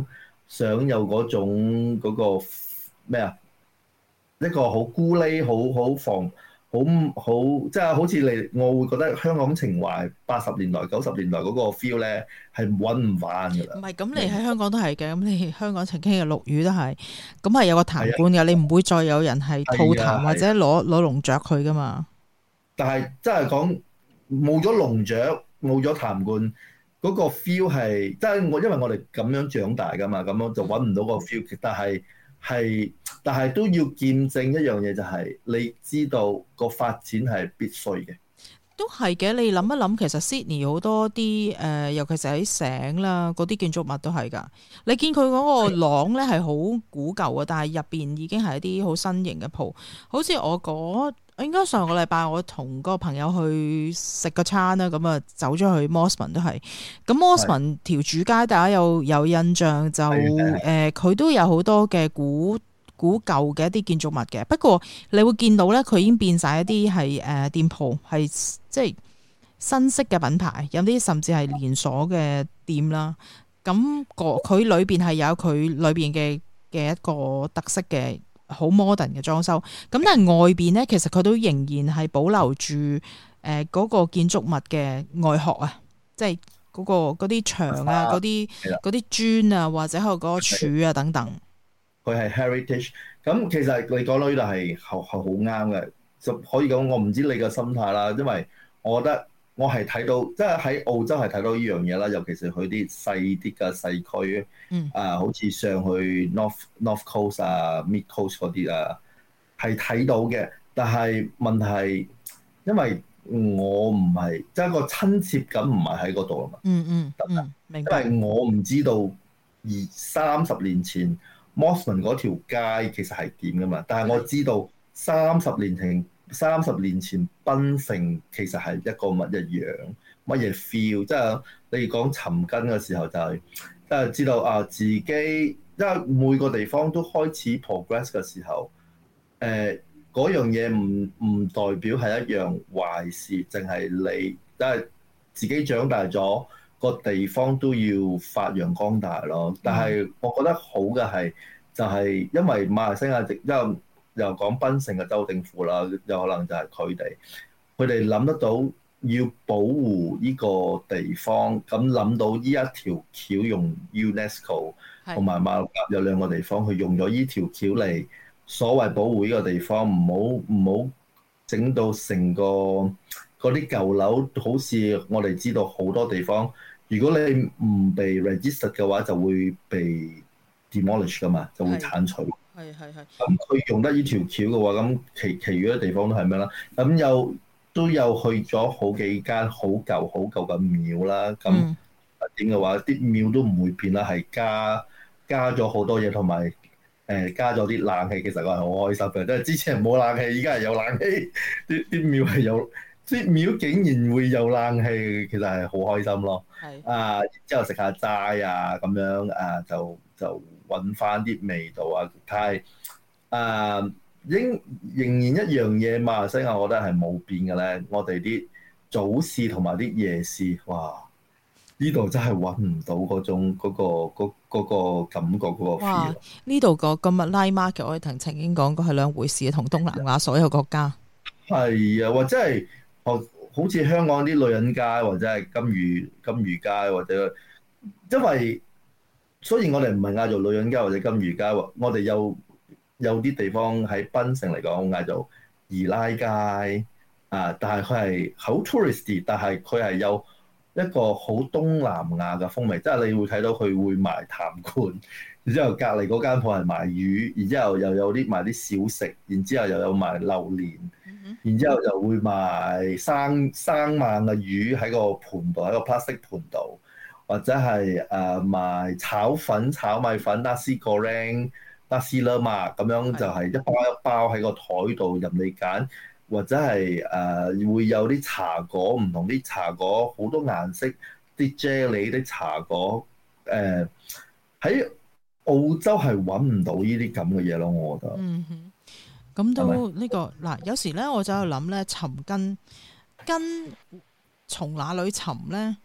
想有嗰種嗰個咩啊？一個好孤喱、好防、好即係好似你，我會覺得香港情懷80年代、90年代嗰個 feel 咧係揾唔翻㗎啦。 唔係咁，你喺香港都係嘅。咁你香港曾經嘅陸羽都係，咁係有個壇官嘅，你唔會再有人係吐痰或者攞龍雀佢㗎嘛。 但係真係講冇咗龍雀，冇咗壇官。嗰個 feel 係，即係因為我哋咁樣長大㗎嘛，咁樣就揾唔到個 feel。但係都要見證一樣嘢，就係你知道個發展係必須嘅。 都係嘅，你諗一諗，其實 Sydney 好多啲尤其是喺醒啦，嗰啲建築物都係㗎。你見佢嗰個廊咧係好古舊啊，但係入邊已經係一啲好新型嘅鋪。好似我應該上個禮拜我同個朋友去食個餐啦，咁啊走咗去 Mosman 都係。咁 Mosman 條主街大家有印象就佢都有好多嘅古舊嘅一啲建築物嘅。不過你會見到咧，佢已經變晒一啲係店鋪，係即係新式嘅品牌，有啲甚至係連鎖嘅店啦。咁佢裏邊係有佢裏邊嘅一個特色嘅。好 modern 嘅裝修，咁但係外邊咧，其實佢都仍然係保留住嗰個建築物嘅外殼啊，即係嗰啲牆啊、嗰啲磚啊，或者係嗰個柱啊等等。 佢係 heritage，咁其實你講到呢度係好啱嘅，就可以講我唔知你嘅心態啦，因為我覺得我係睇到，即係喺澳洲係睇到呢樣嘢啦，尤其是佢啲細啲嘅細區，好似上去 North Coast 啊、Mid Coast 嗰啲啊，係睇到嘅。但係問題，因為我唔係即係個親切感唔係喺嗰度啊嘛。明白。因為我唔知道30年前 Mosman 嗰條街其實係點噶嘛，但係我知道30年前檳城其實係一個乜嘢 feel， 即係你講尋根嘅時候就係即係知道啊自己，因為每個地方都開始 progress 嘅時候，嗰樣嘢唔代表係一樣壞事，淨係你即係自己長大咗，個地方都要發揚光大咯。但係我覺得好嘅就係因為馬來西亞又講檳城嘅州政府啦，有可能就係佢哋諗得到要保護呢個地方，咁諗到呢一條橋用 UNESCO 同埋馬六甲有2個地方去用咗呢條橋嚟所謂保護呢個地方，唔好整到成個嗰啲舊樓，好似我哋知道好多地方，如果你唔被 register 嘅話，就會被 demolish 噶嘛，就會剷除。係。咁佢用得呢條橋嘅話，咁其餘嘅地方都係咩啦？咁都有去咗好幾間好舊嘅廟啦。咁點嘅話，啲廟都唔會變啦，係加咗好多嘢，同埋加咗啲冷氣。其實我係好開心嘅，即係之前冇冷氣，依家係有冷氣。啲廟係有，啲廟竟然會有冷氣，其實係好開心咯。然之後食下齋啊，咁樣就揾翻啲味道啊！但係仍然一樣嘢，馬來西亞我覺得係冇變嘅咧。我哋啲早市同埋啲夜市，哇！呢度真係揾唔到嗰種嗰個感覺嗰個 feel。 呢度個今日 Night Market 我哋曾經講過係兩回事，同東南亞所有國家。係啊，或者係好似香港啲女人街，或者係金魚街，或者因為。雖然我哋唔係嗌做女人街或者金魚街，我哋有啲地方喺檳城嚟講嗌做二奶街啊，但係佢係好 touristy， 但係佢係有一個好東南亞嘅風味，即係你會睇到佢會賣痰罐，然之後隔離嗰間鋪係賣魚，然之後又有啲賣啲小食，然之後又有賣榴蓮，然之後又會賣生猛嘅魚喺個盤度，喺個 plastic 盤度。或者係賣炒粉、炒米粉、nasi goreng、nasi lemak 咁樣，就係一包一包喺個台度任你揀，或者係會有啲茶果，唔同啲茶果好多顏色，啲啫喱啲茶果，喺澳洲係揾唔到呢啲咁嘅嘢咯，我覺得。 咁都呢個嗱，有時咧我就喺度諗咧，尋根從哪裏尋咧？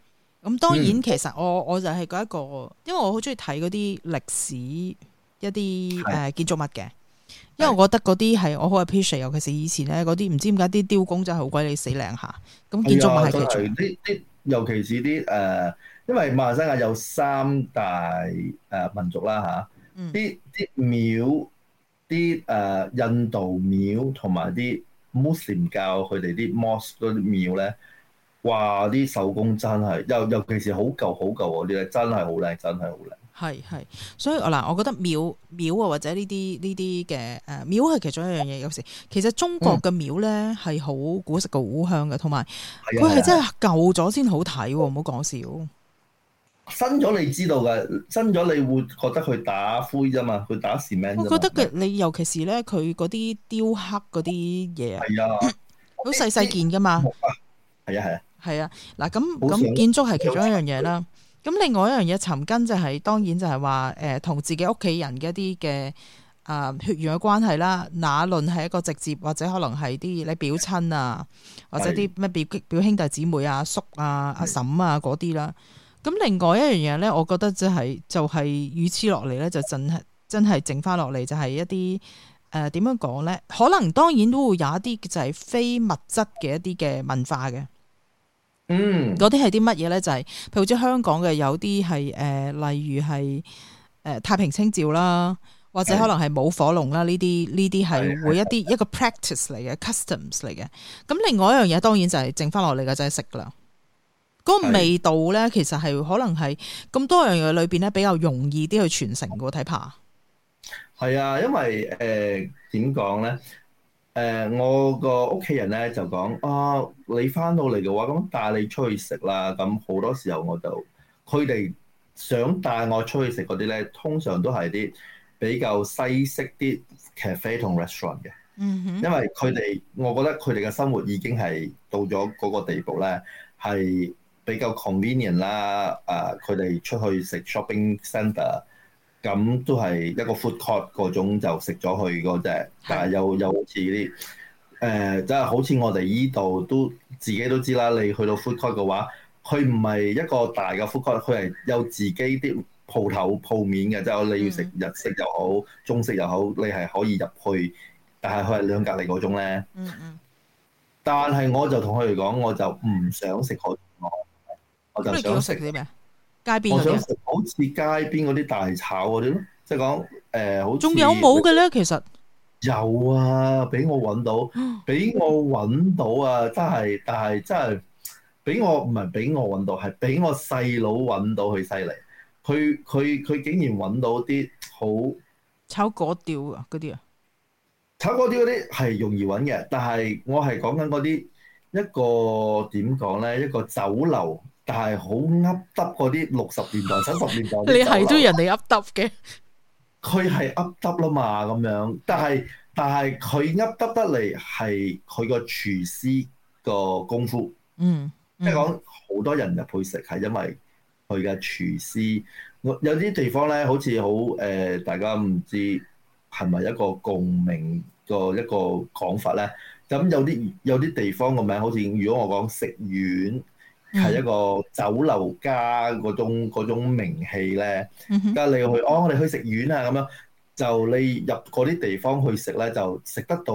咁當然其實我就係嗰一個，因為我好中意睇嗰啲歷史一啲建築物嘅，因為我覺得嗰啲係我好 appreciate，尤其是以前咧嗰啲唔知點解啲雕工真係好鬼你死靚下，咁建築物係其中啲，尤其是啲因為馬來西亞有3大民族啦嚇，啲廟，啲印度廟同埋啲穆斯林教佢哋啲 mosque 嗰啲廟咧，哇！啲手工真係，尤其是好舊嗰啲咧，真係好靚，真係好靚。係， 所以嗱，我覺得廟啊，或者呢啲嘅廟係其中一樣嘢。有時其實中國嘅廟咧係好古色古香嘅，同埋佢係真係舊咗先好睇喎，唔好講笑。 新咗你知道嘅，新咗你會覺得佢打灰啫嘛，佢打 cement。我覺得你尤其是咧，佢嗰啲雕刻嗰啲嘢，好細細件噶嘛。係啊，嗱咁建築係其中一樣嘢啦。咁另外一樣嘢尋根就係、當然就係話同自己屋企人嘅一啲嘅血緣嘅關係啦。那論係一個直接或者可能係啲你表親啊，或者啲咩表兄弟姊妹啊、阿叔啊、阿嬸啊嗰啲啦。咁另外一樣嘢咧，我覺得就係與此落嚟咧，就真係剩翻落嚟就係一啲點樣講咧？可能當然都會有一啲就係非物質嘅一啲嘅文化嘅。嗰啲係啲乜嘢咧？就係、譬如好似香港嘅有啲係例如係太平清醮啦，或者可能係舞火龍啦，呢啲係會一個 practice 嚟嘅 customs 嚟嘅。咁另外一樣嘢當然就係剩翻落嚟嘅就係食啦。嗰個味道咧，其實係可能係咁多樣嘢裏邊咧，比較容易啲去傳承嘅。睇怕係啊，因為點講咧？我個屋企人咧就講你翻到嚟嘅話，咁帶你出去食啦。咁好多時候我就佢哋想帶我出去食嗰啲咧，通常都係啲比較西式啲 cafe 同 restaurant 嘅。因為我覺得佢哋嘅生活已經係到咗嗰個地步咧，係比較 convenient 啦，佢哋出去食 shopping centre， 咁都係一個 food court 嗰種就食咗去嗰隻，但係又好似啲即係好似我哋依度都自己都知啦，你去到 food court 嘅話，佢唔係一個大嘅 food court，佢係有自己啲鋪面嘅，即係你要食日式又好，中式又好，你係可以入去，但係佢係兩隔離嗰種咧。但係我就同佢哋講，我就唔想食海鮮，我就想食啲咩？街邊我想食好似街邊嗰啲大炒嗰啲咯，即係講好似仲有冇嘅咧？其實有啊，俾我揾到啊！真係，但係真係俾我唔係俾我揾到，係俾我細佬揾到佢犀利。佢竟然揾到啲好炒粿條啊嗰啲啊！ 炒粿條嗰啲係容易揾嘅，但係我係講緊嗰啲一個點講咧，一個酒樓。但係好噏耷嗰啲60年代、70年代，你係都人哋噏耷嘅， 佢係噏耷啦嘛咁樣。但係佢噏耷得嚟係佢個廚師個功夫，即係講好多人入去食係因為佢嘅廚師。有啲地方咧，好似好大家唔知係咪一個共鳴個一個講法咧。咁有啲地方個名好似，如果我講食苑。係一個酒樓加嗰種名氣咧，加你去我哋去食苑啊咁樣，就你入嗰啲地方去食咧，就食得到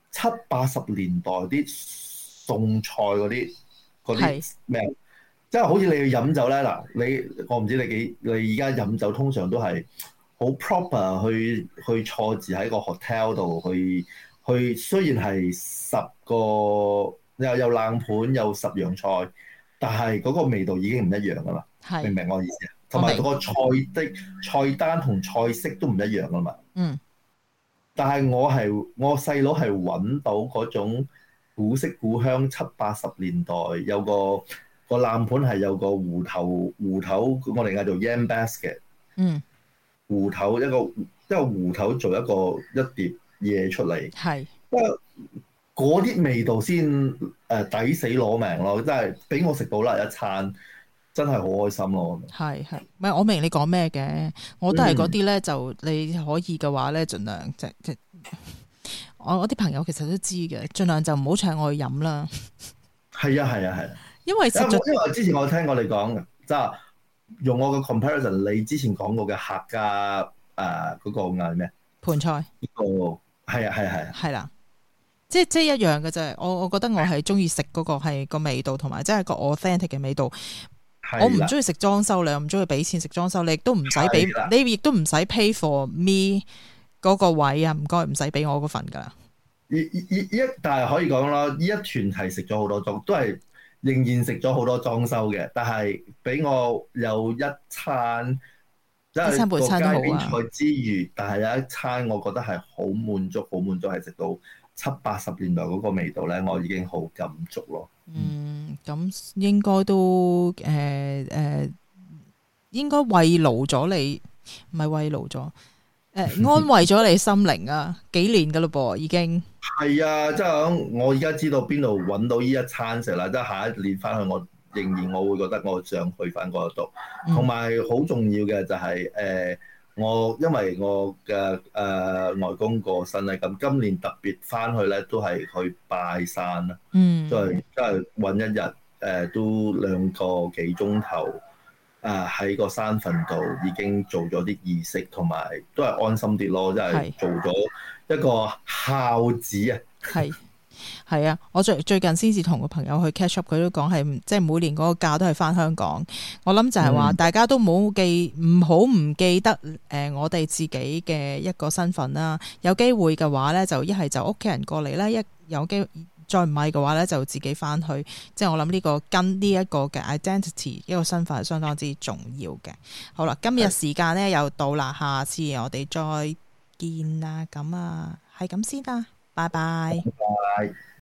70、80年代啲餸菜嗰啲咩？即係好似你去飲酒咧嗱，我唔知你而家飲酒通常都係好 proper 去坐住喺個 hotel 度去，雖然係10個有冷盤有10樣菜。但係嗰個味道已經唔一樣噶嘛，明唔明我意思啊？同埋個菜單同菜式都唔一樣噶嘛。但係我細佬係揾到嗰種古色古香70、80年代，有個冷盤係有個芋頭，我哋嗌做 yam basket。芋頭一個芋頭做一碟嘢出嚟。係。嗰啲味道先抵死攞命咯，真係俾我食到啦一餐，真係好開心咯。係，唔係我明你講咩嘅，我都係嗰啲咧，就你可以嘅話咧，盡量即我啲朋友其實都知嘅，盡量就唔好請我去飲啦。 係啊，因為之前我聽過你講即係用我嘅 comparison，你之前講過嘅客家嗰個嗌咩？ 盤菜呢個係啊， 係啦，即係一樣嘅啫。我覺得我係中意食嗰個係個味道，同埋即係個 authentic 嘅味道。我唔中意食裝修，你又唔中意俾錢食裝修，你亦都唔使俾，你亦都唔使 pay for me 嗰個位啊！唔該，唔使俾我嗰份㗎。 但係可以講啦，呢一團係食咗好多裝，都係仍然食咗好多裝修嘅。但係俾我有一餐，即係個街邊菜之餘，但係有一餐我覺得係好滿足，係食到70-80年代嗰個味道咧，我已經好感觸咯。 咁應該都應該慰勞咗你，唔係慰勞咗，安慰咗你心靈啊！幾年㗎嘞噃，已經係啊！即係我而家知道邊度揾到呢一餐食啦，即係下一年翻去，我仍然會覺得我想去翻嗰度。同埋好重要嘅就係因為我嘅外公過身咧，咁今年特別翻去咧都係去拜山啦，即係揾一日都2個幾鐘頭喺個山墳度已經做咗啲儀式，同埋都係安心啲咯，即係做咗一個孝子啊！ 係啊！我最近先至同個朋友去 catch up，佢都講係即係每年嗰個假都係翻香港。我諗就係話大家都唔好唔記得我哋自己嘅一個身份啦。有機會嘅話咧，就一係就屋企人過嚟啦，一有機會再唔係嘅話咧，就自己翻去。即係我諗呢個跟呢一個嘅 identity 一個身份係相當之重要嘅。好啦，今日時間咧又到啦，下次我哋再見啦。咁係咁先啦。拜拜。